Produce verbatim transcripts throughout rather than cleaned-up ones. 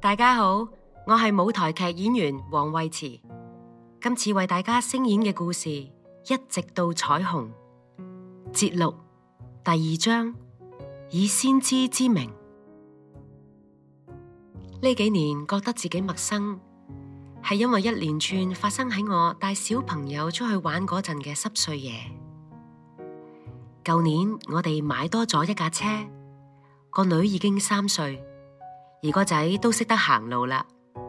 大家好，我係舞台劇演員黃慧慈，今次為大家聲演嘅故事《一直到彩虹》節錄第二章，以先知之名。呢幾年覺得自己陌生，係因為一連串發生喺我帶小朋友出去玩嗰陣嘅濕碎嘢。舊年我哋買多咗一架車，個女已經三歲。而個仔都識得行路啦。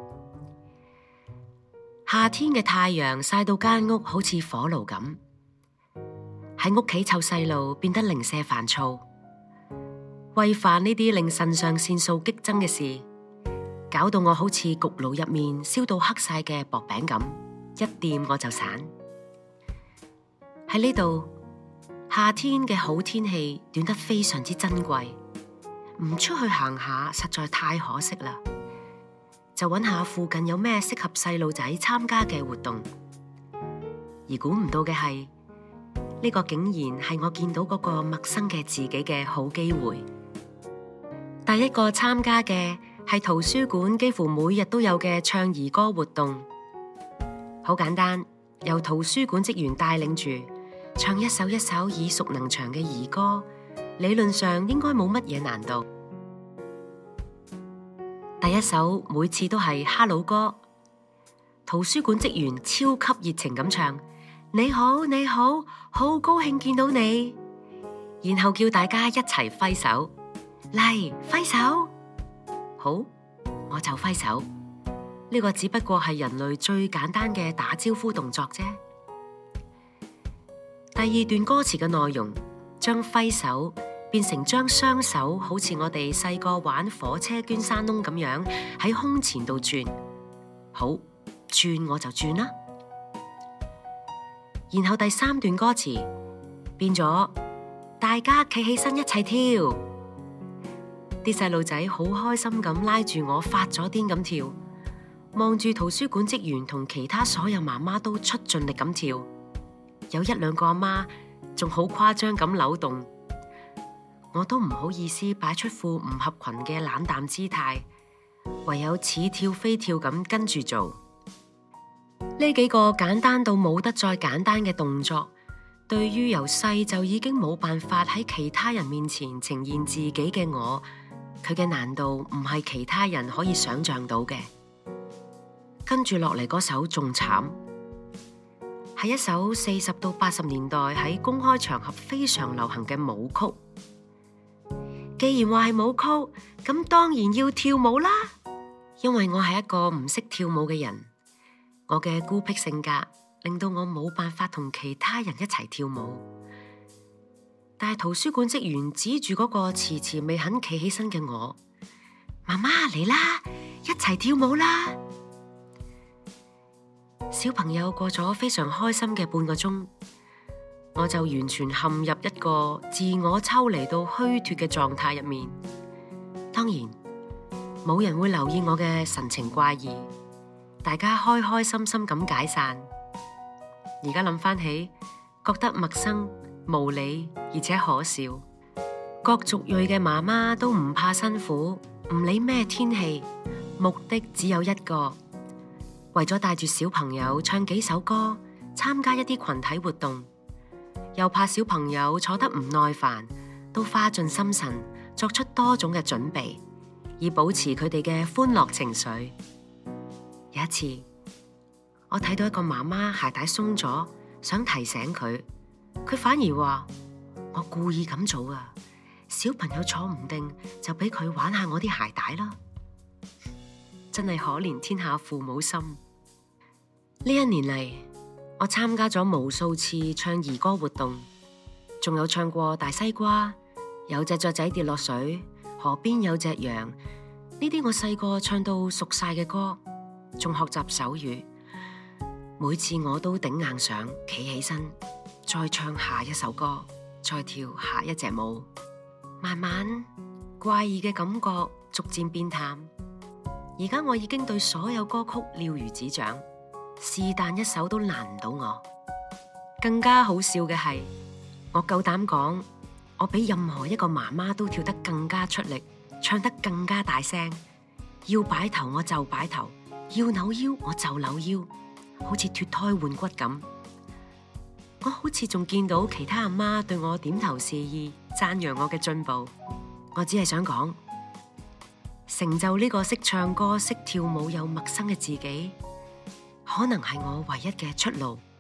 夏天嘅太陽曬到間屋好似火爐咁，喺屋企湊細路變得零舍煩躁。餵飯呢啲令腎上腺素激增嘅事，搞到我好似焗爐入面燒到黑晒嘅薄餅咁，一掂我就散。喺呢度，夏天嘅好天氣短得非常之珍貴。唔出去行下實在太可惜啦，就揾下附近有咩適合細路仔參加嘅活動。而估唔到嘅係，呢個竟然係我見到嗰個陌生嘅自己嘅好機會。第一個參加嘅係圖書館幾乎每日都有嘅唱兒歌活動。好簡單，由圖書館職員帶領住唱一首一首耳熟能詳嘅兒歌，理論上應該冇乜嘢難度。第一首每次都係哈佬歌，圖書館職員超級熱情咁唱，你好你好，好高興見到你，然後叫大家一齊揮手，嚟揮手，好，我就揮手。呢個只不過係人類最簡單嘅打招呼動作啫。第二段歌詞嘅內容，將揮手變成將雙手好似我哋細個玩火車捐山窿咁樣喺胸前度轉，好，轉我就轉啦。然後第三段歌詞變咗大家企起身一齊跳，啲細路仔好開心咁拉住我發咗癲咁跳，望住圖書館職員同其他所有媽媽都出盡力咁跳，有一兩個阿媽仲好誇張咁扭動。我都唔好意思擺出副唔合群嘅冷淡姿態，唯有似跳非跳咁跟住做。呢幾個簡單到冇得再簡單嘅動作，對於由細就已經冇辦法喺其他人面前呈現自己嘅我，佢嘅難度唔係其他人可以想象到嘅。跟住落嚟嗰首仲慘，係一首四十到八十年代喺公開場合非常流行嘅舞曲。既然話係舞曲，咁當然要跳舞啦。因為我係一個唔識跳舞嘅人，我嘅孤僻性格令到我冇辦法同其他人一齊跳舞。但係圖書館職員指住嗰個遲遲未肯企起身嘅我，媽媽嚟啦，一齊跳舞啦！小朋友過咗非常開心嘅半個鐘，我就完全陷入一個自我抽離到虛脫嘅狀態入面。當然，冇人會留意我嘅神情怪異，大家開開心心咁解散。而家諗翻起，覺得陌生、無理而且可笑。各族裔嘅媽媽都唔怕辛苦，唔理咩天氣，目的只有一個，為咗帶住小朋友唱幾首歌，參加一啲群體活動。又怕小朋友坐得唔耐煩，都花盡心神作出多種嘅準備，以保持佢哋嘅歡樂情緒。有一次，我睇到一個媽媽鞋帶鬆咗，想提醒佢，佢反而話我故意咁做啊，小朋友坐唔定就俾佢玩下我啲鞋帶啦。真係可憐天下父母心。呢一年嚟，我參加咗無數次唱兒歌活動，仲有唱過大西瓜、有隻雀仔跌落水、河邊有隻羊，呢啲我細個唱到熟晒嘅歌，仲學習手語。每次我都頂硬上，企起身，再唱下一首歌，再跳下一隻舞。慢慢怪異嘅感覺逐漸變淡，而家我已經對所有歌曲了如指掌。是但一首都難唔到我。更加好笑嘅係，我夠膽講，我比任何一個媽媽都跳得更加出力，唱得更加大聲， 要擺頭我就擺頭，要扭腰我就扭腰，好似脫胎換骨咁。我好似仲見到其他阿媽對我點頭示意，讚揚我嘅進步。我只係想講，成就呢個識唱歌、識跳舞又陌生嘅自己，可能係我唯一嘅出路。